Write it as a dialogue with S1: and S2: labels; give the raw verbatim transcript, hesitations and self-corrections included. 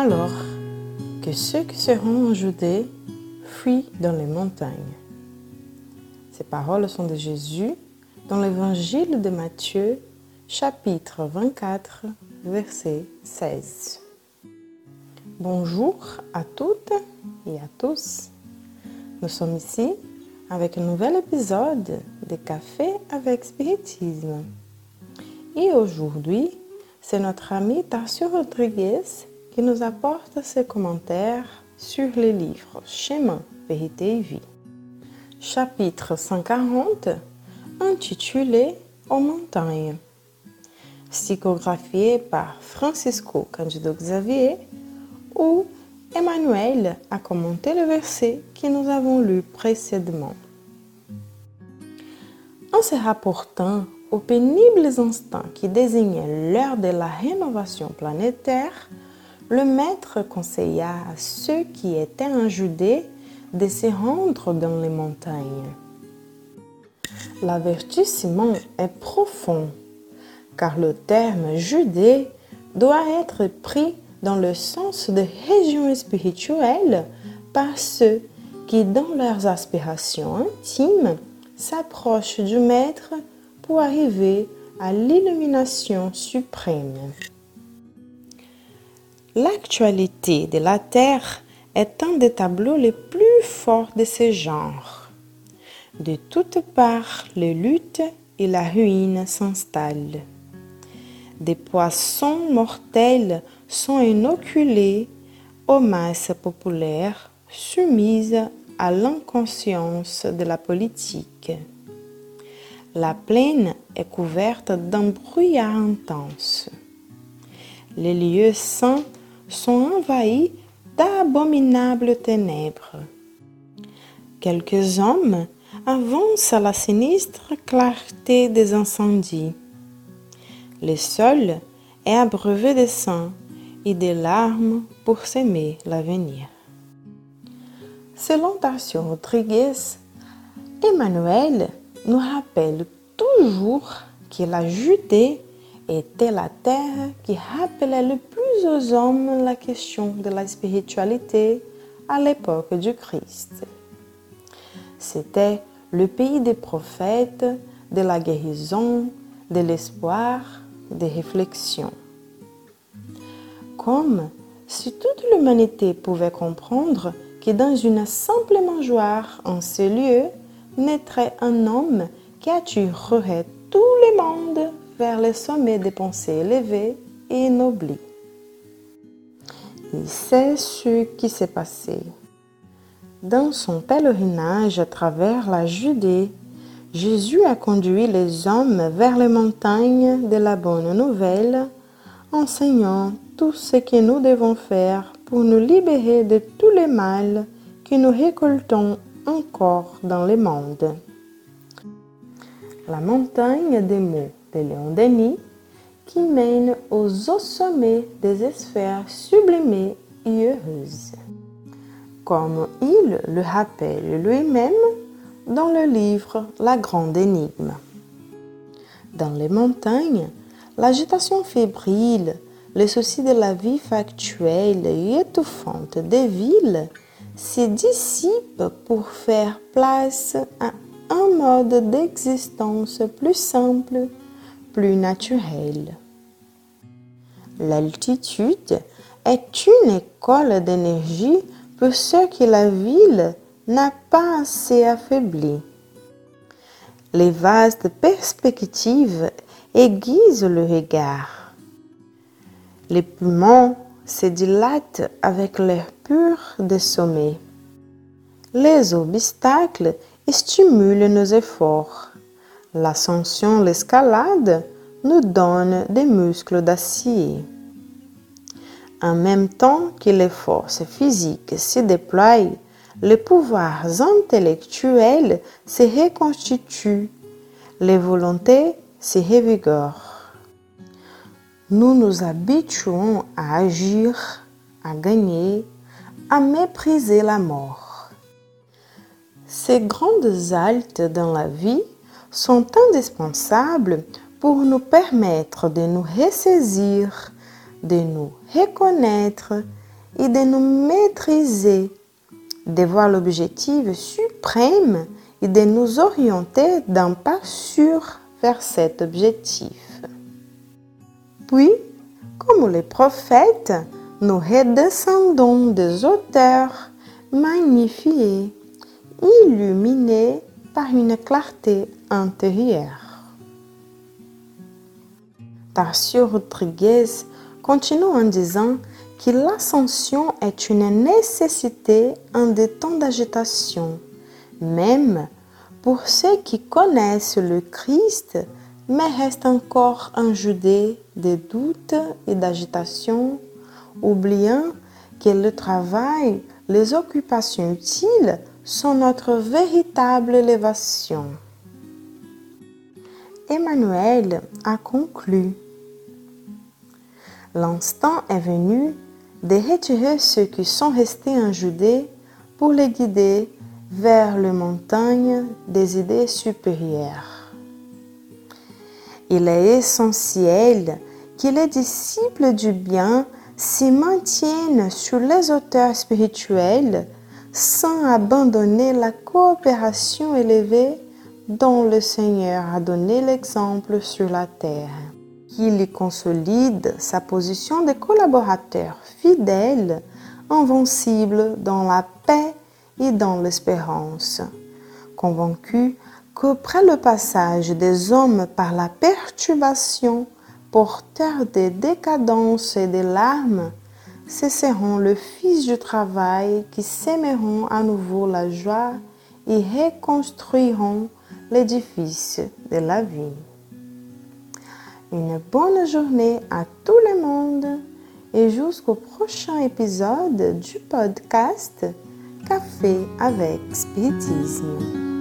S1: alors que ceux qui seront en Judée fuient dans les montagnes. Ces paroles sont de Jésus dans l'évangile de Matthieu, chapitre vingt-quatre, verset seize. Bonjour à toutes et à tous. Nous sommes ici avec un nouvel épisode de Café avec Spiritisme. Et aujourd'hui, c'est notre ami Tarcio Rodrigues qui nous apporte ses commentaires sur les livres Chemin, Vérité et Vie. Chapitre cent quarante, intitulé Aux montagnes. Psychographié par Francisco Cândido Xavier, où Emmanuel a commenté le verset que nous avons lu précédemment. En se rapportant aux pénibles instants qui désignaient l'heure de la rénovation planétaire, le maître conseilla à ceux qui étaient en Judée de se rendre dans les montagnes. L'avertissement est profond, car le terme Judée doit être pris dans le sens de région spirituelle par ceux qui, dans leurs aspirations intimes, s'approchent du Maître pour arriver à l'illumination suprême. L'actualité de la Terre est un des tableaux les plus forts de ce genre. De toutes parts, les luttes et la ruine s'installent. Des poissons mortels sont inoculés aux masses populaires soumises à l'inconscience de la politique. La plaine est couverte d'un brouillard intense. Les lieux saints sont envahis d'abominables ténèbres. Quelques hommes avancent à la sinistre clarté des incendies. Le sol est abreuvé de sang et de larmes pour s'aimer l'avenir. Selon Tarcio Rodrigues, Emmanuel nous rappelle toujours que la Judée était la terre qui rappelait le plus aux hommes la question de la spiritualité à l'époque du Christ. C'était le pays des prophètes, de la guérison, de l'espoir, des réflexions. Comme si toute l'humanité pouvait comprendre que dans une simple mangeoire en ce lieu naîtrait un homme qui attirerait tout le monde vers les sommets des pensées élevées et ennoblies. Et c'est ce qui s'est passé. Dans son pèlerinage à travers la Judée, Jésus a conduit les hommes vers les montagnes de la Bonne Nouvelle, enseignant tout ce que nous devons faire pour nous libérer de tous les mal que nous récoltons encore dans le monde. La montagne des mots de Léon Denis qui mène aux hauts sommets des sphères sublimées et heureuses. Comme il le rappelle lui-même dans le livre La Grande Énigme. Dans les montagnes, l'agitation fébrile, les soucis de la vie factuelle et étouffante des villes se dissipent pour faire place à un mode d'existence plus simple, plus naturel. L'altitude est une école d'énergie pour ceux que la ville n'a pas assez affaibli. Les vastes perspectives aiguisent le regard. Les poumons se dilatent avec l'air pur des sommets. Les obstacles stimulent nos efforts. L'ascension, l'escalade nous donnent des muscles d'acier. En même temps que les forces physiques se déploient, les pouvoirs intellectuels se reconstituent, les volontés se revigorent. Nous nous habituons à agir, à gagner, à mépriser la mort. Ces grandes haltes dans la vie sont indispensables pour nous permettre de nous ressaisir, de nous reconnaître et de nous maîtriser, de voir l'objectif suprême et de nous orienter d'un pas sûr vers cet objectif. Puis, comme les prophètes, nous redescendons des hauteurs magnifiées, illuminés par une clarté intérieure. Tarcio Rodriguez continue en disant que l'ascension est une nécessité en des temps d'agitation, même pour ceux qui connaissent le Christ, mais restent encore en Judée de doutes et d'agitation, oubliant que le travail, les occupations utiles sont notre véritable élévation. Emmanuel a conclu. L'instant est venu de retirer ceux qui sont restés en Judée pour les guider vers les montagnes des idées supérieures. Il est essentiel que les disciples du bien s'y maintiennent sur les hauteurs spirituelles sans abandonner la coopération élevée dont le Seigneur a donné l'exemple sur la terre. Qu'il y consolide sa position de collaborateur fidèle, invincible dans la paix et dans l'espérance, convaincu qu'après le passage des hommes par la perturbation, porteurs de décadence et de larmes, ce seront les fils du travail qui sèmeront à nouveau la joie et reconstruiront l'édifice de la vie. Une bonne journée à tout le monde et jusqu'au prochain épisode du podcast Café avec Spiritisme.